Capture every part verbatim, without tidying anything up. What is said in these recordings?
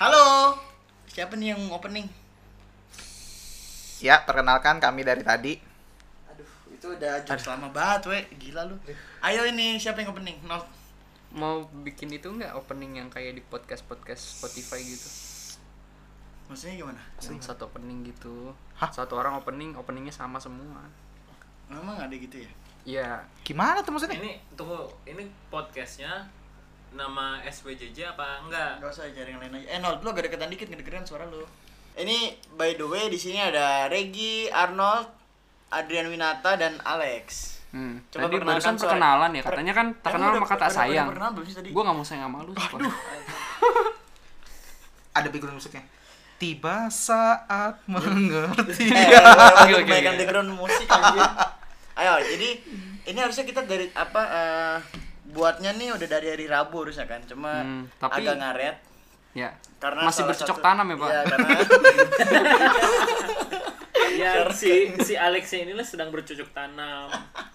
Halo, siapa nih yang opening? Ya, perkenalkan kami dari tadi. Aduh, itu udah jokes lama banget, we. Gila lu. Ayo ini, siapa yang opening? Nol. Mau bikin itu nggak opening yang kayak di podcast-podcast Spotify gitu? Maksudnya gimana? Yang satu opening gitu. Hah? Satu orang opening, openingnya sama semua. Emang ada gitu ya? Iya. Gimana tuh maksudnya? Ini tunggu, ini podcastnya nama S W J J apa enggak? Gak usah cari yang lain aja. Eh, Nol, lu agak deketan dikit, ngedengerin suara lu. Ini by the way di sini ada Regi, Arnold, Adrian Winata dan Alex. Hmm. Coba Tadi perkenalkan barusan suara. perkenalan ya, Per- katanya kan tak Emang kenal udah- maka tak udah- udah sayang. perkenalan belum sih tadi? Gua nggak mau sayang sama lu. Aduh. Ada background musiknya. Tiba saat mengerti. Eh, Oke, oke, banyak oke. background musik anjir. Ayo, jadi ini harusnya kita dari apa eh, buatnya nih udah dari hari Rabu harusnya kan. Cuma Hmm, tapi- agak ngaret Ya. karena Masih salah bercocok satu- tanam ya, Pak? Iya, karena Ya si si Alex inilah sedang bercocok tanam.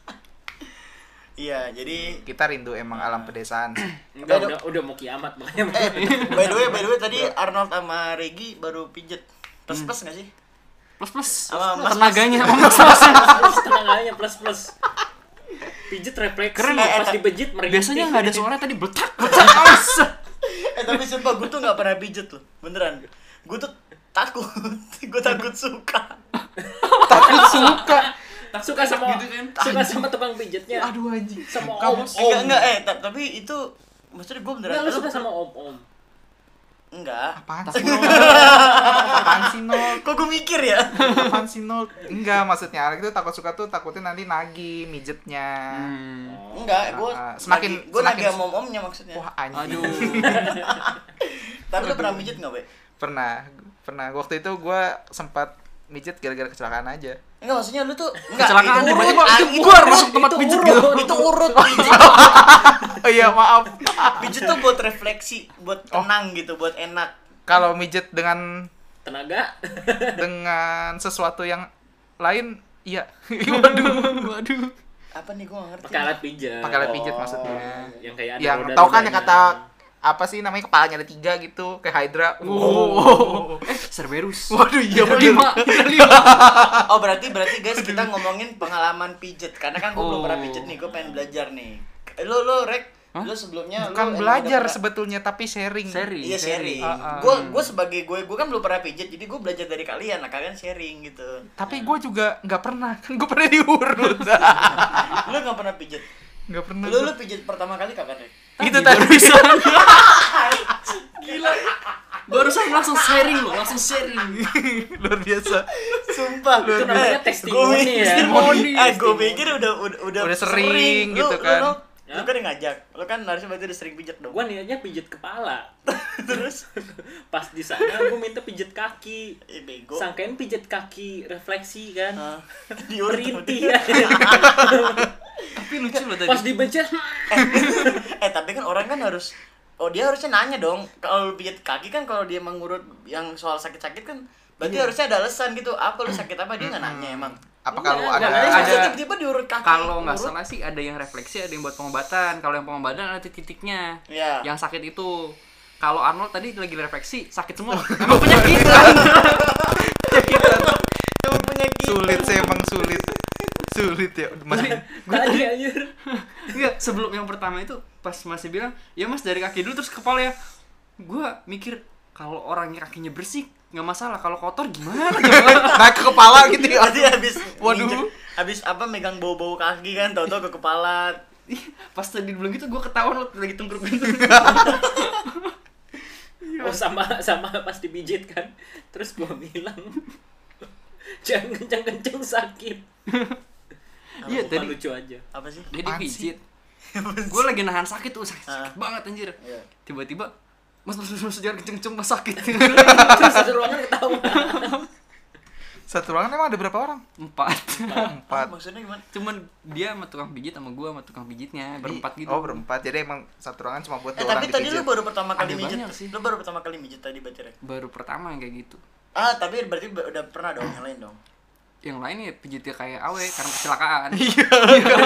iya, jadi Kita rindu emang alam pedesaan. Enggak, Aduh. udah udah mau kiamat makanya. eh by the way, by the way tadi Arnold sama Regi baru pijet. Plus plus enggak sih? Plus plus. Sama mas- Tenaganya sama mas mas. Plus tenaganya plus plus. Pijet refleksi. Keren, pas eh, dipijit merintih. Biasanya nggak ada suara tadi betak betak. Aus. Eh tapi sumpah gue tuh gak pernah pijet loh. Beneran. Gue tuh takut. Gue takut suka. Takut suka. Tak suka sama Gitu kan. suka sama tukang pijitnya. Aduh anjing. Sama Kamu om. Enggak, enggak eh ta- tapi itu maksudnya gue beneran. Enggak, lu Lu- suka sama om om. Enggak. Apaan sih Nol? Apaan sih Nol? Kok gue mikir ya? Apaan sih Nol? Enggak, maksudnya Alex itu takut suka tuh takutnya nanti nagih mijetnya. Hmm. Enggak, gue Ah, semakin- gue lagi semakin- sama om-omnya maksudnya. Wah anjing. Aduh. Tapi lu pernah pijet enggak, Be? Pernah, pernah. Waktu itu gue sempat mijet gara-gara kecelakaan aja. Enggak, maksudnya lu tuh enggak Kecelakaan itu tiba-tiba urut, itu itu buar urut, masuk tempat itu pijet urut, gitu. Itu urut pijet. Oh iya, maaf. Pijet tuh buat refleksi, buat tenang gitu, buat enak. Kalau mijet dengan Tenaga. dengan sesuatu yang lain, iya. Waduh, waduh. Apa nih gue gak ngerti. Pakai alat pijat. Pakai alat pijat Oh. maksudnya. Yang kayak ada Yang roda-rodanya. tahu kan yang kata apa sih namanya, kepalanya ada tiga gitu, kayak Hydra. Oh. Eh, Cerberus. Waduh, iya bener. lima, lima. Oh berarti berarti guys kita ngomongin pengalaman pijet karena kan gue belum Oh. pernah pijet nih, gue pengen belajar nih. Eh, Lu lu Rek, Hah? lu sebelumnya lu Bukan emang belajar udah pernah- sebetulnya, tapi sharing. Sharing. Iya sharing. Ah, ah. Gue gue sebagai gue gue kan belum pernah pijet, jadi gue belajar dari kalian, nah kalian sharing gitu. Tapi gue juga nggak pernah, kan gue pernah diurut. Lu nggak pernah pijet? Nggak pernah. Lu lu pijet pertama kali kapan Rek? Itu tadi. Gila. Barusan langsung sharing loh, langsung sharing. Luar biasa. Sumpah. Itu namanya Eh, testimoni gua- ya. Testimoni. Eh, gue Testimoni. pikir udah udah udah, Udah sering gitu Lu- kan. Lu, lu, Ya? lu kan yang ngajak. Lu kan harusnya berarti udah sering pijet dong. Gua niatnya pijit kepala. Terus Pas di sana gua minta pijit kaki. eh bego. Sangkain pijit kaki refleksi kan. Ah, diurut sama Merintih dia. ya. Tapi lucu loh Pas tadi. dibencet. Eh tapi kan orang kan harus, oh dia harusnya nanya dong kalau lu pijat kaki kan, kalau dia mengurut yang soal sakit-sakit kan berarti Iya. harusnya ada alasan gitu, apa lu sakit apa, dia nggak nanya emang. Apa Enggak, kalau enggak, ada Tapi enggak, masa ada- tiba-tiba diurut kaki. Kalau nggak urut? salah sih ada yang refleksi, ada yang buat pengobatan. Kalau yang pengobatan ada titik-titiknya. Iya. Yang sakit itu. Kalau Arnold tadi lagi refleksi, sakit semua. Emang penyakitan. Emang penyakit. sulit sih, emang sulit. Sulit ya. Masih Tadi anjir. Enggak, sebelum yang pertama itu pas masih bilang, "Ya Mas, dari kaki dulu terus ke kepala ya." Gua mikir kalau orangnya kakinya bersih nggak masalah, kalau kotor gimana? naik ke kepala gitu ya. Tadi habis Waduh. nginjek- habis apa megang bau-bau kaki kan, tahu-tahu ke kepala. Pas tadi bilang gitu gua ketahuan lo lagi tungkruk gitu. Oh sama sama pas dipijit kan. Terus gua bilang jangan kencang-kencang sakit. Iya, Apa tadi lucu aja. Apa sih? dia Apaan dipijit. Gue lagi nahan sakit tuh, sakit, Ah. sakit banget anjir. Iya. Tiba-tiba Mas, mas, mas, mas, jangan kenceng-kenceng, mas sakit. Terus satu ruangan ketawa. Satu ruangan emang ada berapa orang? Empat. Empat. Ah, maksudnya gimana? Cuman dia sama tukang pijit sama gua sama tukang pijitnya berempat gitu. Oh, berempat. Jadi emang satu ruangan cuma buat Eh dua orang tapi tadi lu dipijit. baru pertama kali Ada mijet. banyak sih. Lu baru pertama kali mijet tadi berarti Rek. Baru pertama yang kayak gitu. Ah, tapi berarti ba- udah pernah dong yang lain dong. Yang lain ya pijitnya kayak awe karena kecelakaan.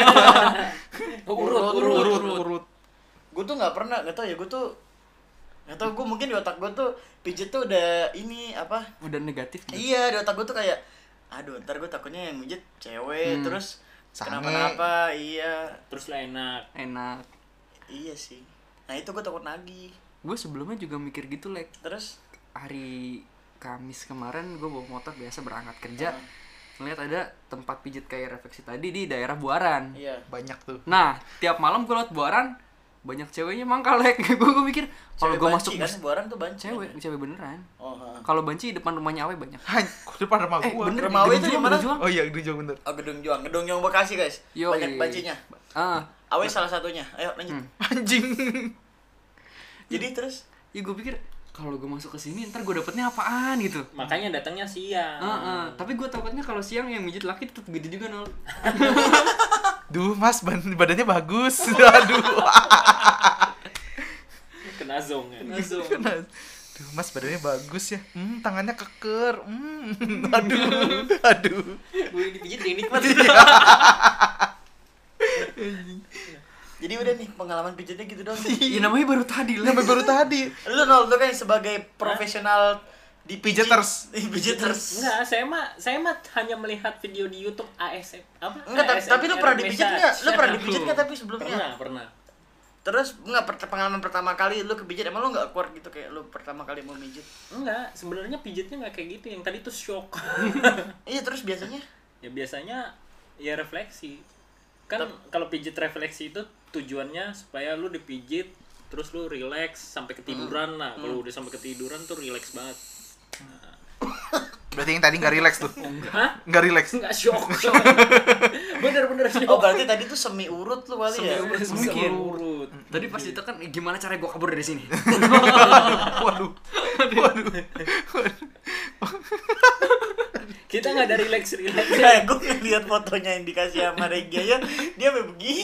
Urut, urut, urut, urut. Gue tuh nggak pernah, nggak tau ya gue tuh Nggak tau, gue mungkin di otak gue tuh pijet tuh udah ini apa? Udah negatif gitu. Iya, di otak gue tuh kayak, aduh ntar gue takutnya yang mijet cewek, Hmm. terus Sange. kenapa-napa, iya. Terus lah enak. Enak. Iya sih. Nah itu gue takut nagih. Gue sebelumnya juga mikir gitu, Lek. Terus? Hari Kamis kemarin gue bawa motor biasa berangkat kerja. Ah. Ngeliat ada tempat pijit kayak refleksi tadi di daerah Buaran. Iya. Banyak tuh. Nah, tiap malam gue lewat Buaran, banyak ceweknya mangkal, Lek. Gue gue mikir kalau Cewek gue banci masuk kan, bus- Buaran tuh banci. cewek, kan? cewek beneran. Oh, ha. Kalau banci depan rumahnya Awe banyak. Hah, kok depan rumah Eh, gua. bener. Rumah Awe Gedung itu di Juang, mana? Gedung Juang. Oh iya, Gedung Juang bener. Oh, Gedung Juang, Gedung Juang Bekasi guys. Yoi. Banyak bancinya. Ah, Awe salah satunya. Ayo lanjut. Hmm. Anjing. Jadi terus? ya gue pikir kalau gue masuk ke sini ntar gue dapetnya apaan gitu. Makanya datangnya siang. Heeh, tapi gue takutnya kalau siang yang mijit laki tetap gede juga nol. Duh, Mas, ban- badannya bagus. Aduh. Kena zong ya. Langsung. Duh, Mas, badannya bagus ya. Hmm, tangannya keker. Hmm. Aduh. Aduh. Gue dipijit yang nikmat. Jadi udah nih pengalaman pijetnya gitu doang. Ya namanya baru tadi lah. Sampai baru tadi. Lu nol tuh kan sebagai profesional di pijit- Pijeters. Di pijeters. Enggak, saya mah saya mah hanya melihat video di YouTube A S M apa? Enggak, tapi, A S M tapi lu pernah R dipijit massage. enggak? Lu pernah dipijit enggak tapi sebelumnya? Pernah, pernah. Terus enggak per- pengalaman pertama kali lu kepijit emang lu enggak kuat gitu kayak lu pertama kali mau mijit? Enggak, sebenarnya pijitnya enggak kayak gitu. Yang tadi tuh shock. Iya, terus biasanya Ya biasanya ya refleksi. Kan kalau pijit refleksi itu tujuannya supaya lu dipijit terus lu relax sampai ketiduran. Nah, kalau udah sampai ketiduran tuh relax banget. Berarti yang tadi nggak relax tuh. Hah? Nggak relax. Enggak shock, shock. Bener-bener shock. Oh, berarti tadi tuh semi urut lu kali ya? Semi-urut. Mungkin Mungkin. urut. Tadi pas ditekan eh, gimana cara gue kabur dari sini? Waduh. Waduh. Kita nggak ada relax relax. Kayak gue ngeliat fotonya yang dikasih sama Regi aja, dia sampai begini.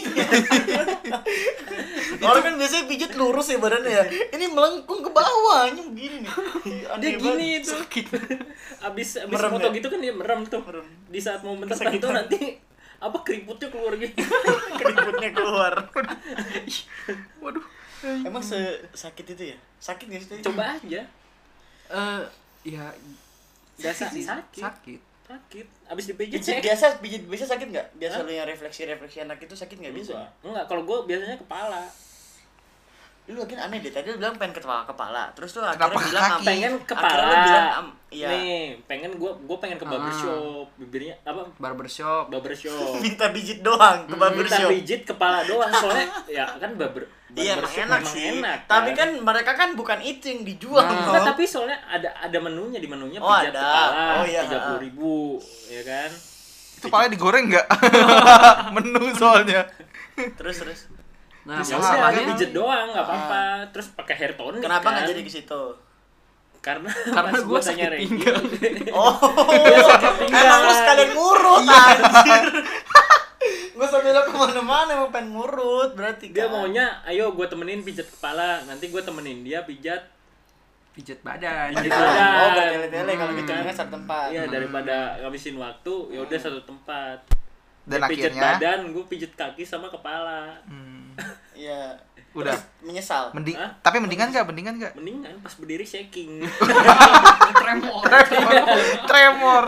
Orang kan biasanya pijit lurus ya badannya ya. Ini melengkung ke bawahnya begini nih. Dia Aneh gini banget. itu. Abis abis Merem foto ya? gitu kan dia merem tuh. Merem. Di saat momen Kesakitan. tertentu nanti apa keriputnya keluar gitu. Keriputnya keluar. Waduh. Emang sesakit itu ya? Sakit gak sih tadi? Coba aja. Eh, ya Biasa sih, sakit. sakit. Sakit. Abis dipijit Pijit saya biasa, pijit biasa sakit nggak? Biasa Hah? lu yang refleksi-refleksi anak itu sakit nggak biasa? Enggak. Enggak, kalau gue biasanya kepala. Lu lagi aneh deh, tadi lu bilang pengen kepala kepala, terus lu Kenapa akhirnya bilang kaki? am- Pengen akhirnya kepala. lu bilang am, iya. Nih, pengen gue gue pengen ke Ah. barbershop. Bibirnya apa? Barbershop. Barbershop. Minta pijit doang ke Hmm, Minta barbershop. pijit kepala doang soalnya ya kan barber. Iya, emang barbershop enak memang sih. enak, Tapi kan mereka kan bukan itu yang dijual. Nah. no. Enggak, tapi soalnya ada ada menunya di menunya Oh, pijat ada. kepala Oh, iya. tiga puluh ribu, ya kan? Itu palanya digoreng nggak? Menu soalnya. Terus terus. Nah, Terus Ya Ah, udah, makanya- pijit doang nggak apa-apa. Terus pakai hair tonic. Kenapa kan? nggak jadi ke situ? Karena Karena pas gua gua tanya sakit Regi, pinggang. Oh, Dia sakit pinggang. emang lu sekalian ngurut anjir. Gue sambil lo kemana-mana emang pengen ngurut berarti dia kan. maunya, ayo gue temenin pijat kepala, nanti gue temenin dia pijat. pijat badan. Pijat gitu. badan. Oh, bertele-tele kalau gitu Hmm. kan satu tempat. Iya, daripada ngabisin waktu, ya udah satu tempat. Dan Dia pijat akhirnya badan, gue pijat kaki sama kepala. hmm, Iya. Udah. Terus menyesal. mending Hah? tapi mendingan nggak? Mendingan nggak? Mendingan pas berdiri shaking. Tremor. Tremor.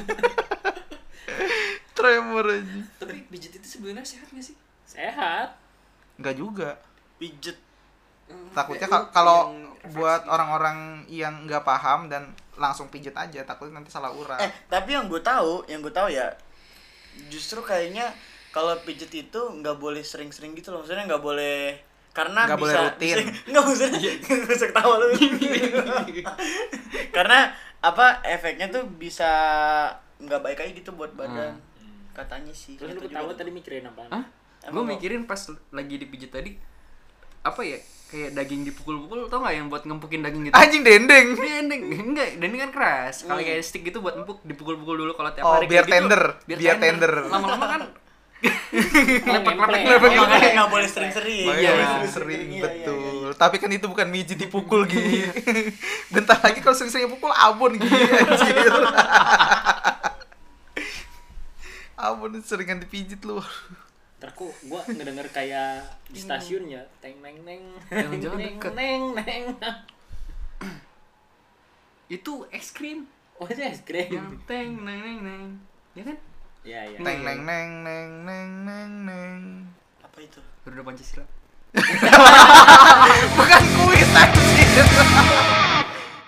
Tremor aja. Tapi pijat itu sebenarnya sehat nggak sih? Sehat. Nggak juga. Pijet. Takutnya Ya, ka- kalau yang refleksi buat gitu. orang-orang yang nggak paham dan langsung pijet aja, takutnya nanti salah urat. Eh, tapi yang gue tahu, yang gue tahu ya, justru kayaknya kalau pijet itu nggak boleh sering-sering gitu loh. Maksudnya nggak boleh karena Nggak bisa boleh rutin. bisa- nggak maksudnya nggak usah ketawa lu. Karena apa efeknya tuh bisa nggak baik aja gitu buat badan. Katanya sih. Terus lu Gitu ketawa juga. tadi mikirin apa? Hah? Emang Gue mau- mikirin pas lagi dipijit tadi apa ya? Kayak daging dipukul-pukul, tau nggak yang buat ngempukin daging gitu? Anjing dendeng. Dendeng, enggak, dendeng kan keras. Kalau Hmm. kayak stick gitu buat empuk, dipukul-pukul dulu kalau tiap Oh, hari biar kayak gitu, tender, biar tender. Lama-lama kan Lepek-lepek. Makanya nggak boleh sering-sering. Makanya Iya. sering sering Iya, iya, betul. iya. Tapi kan itu bukan mijit dipukul gitu. Bentar lagi kalau sering-sering pukul abon gitu anjir. Abon seringan dipijit lu. Ntar kok gue ngedenger kayak di stasiun ya, teng neng neng, Jangan-jangan neng deket. neng neng. Itu es krim Oh itu es krim. yang teng neng neng neng. Ya kan? Iya iya. Neng neng neng neng neng neng neng. Apa itu? Garuda Pancasila. Bukan kuis anjir.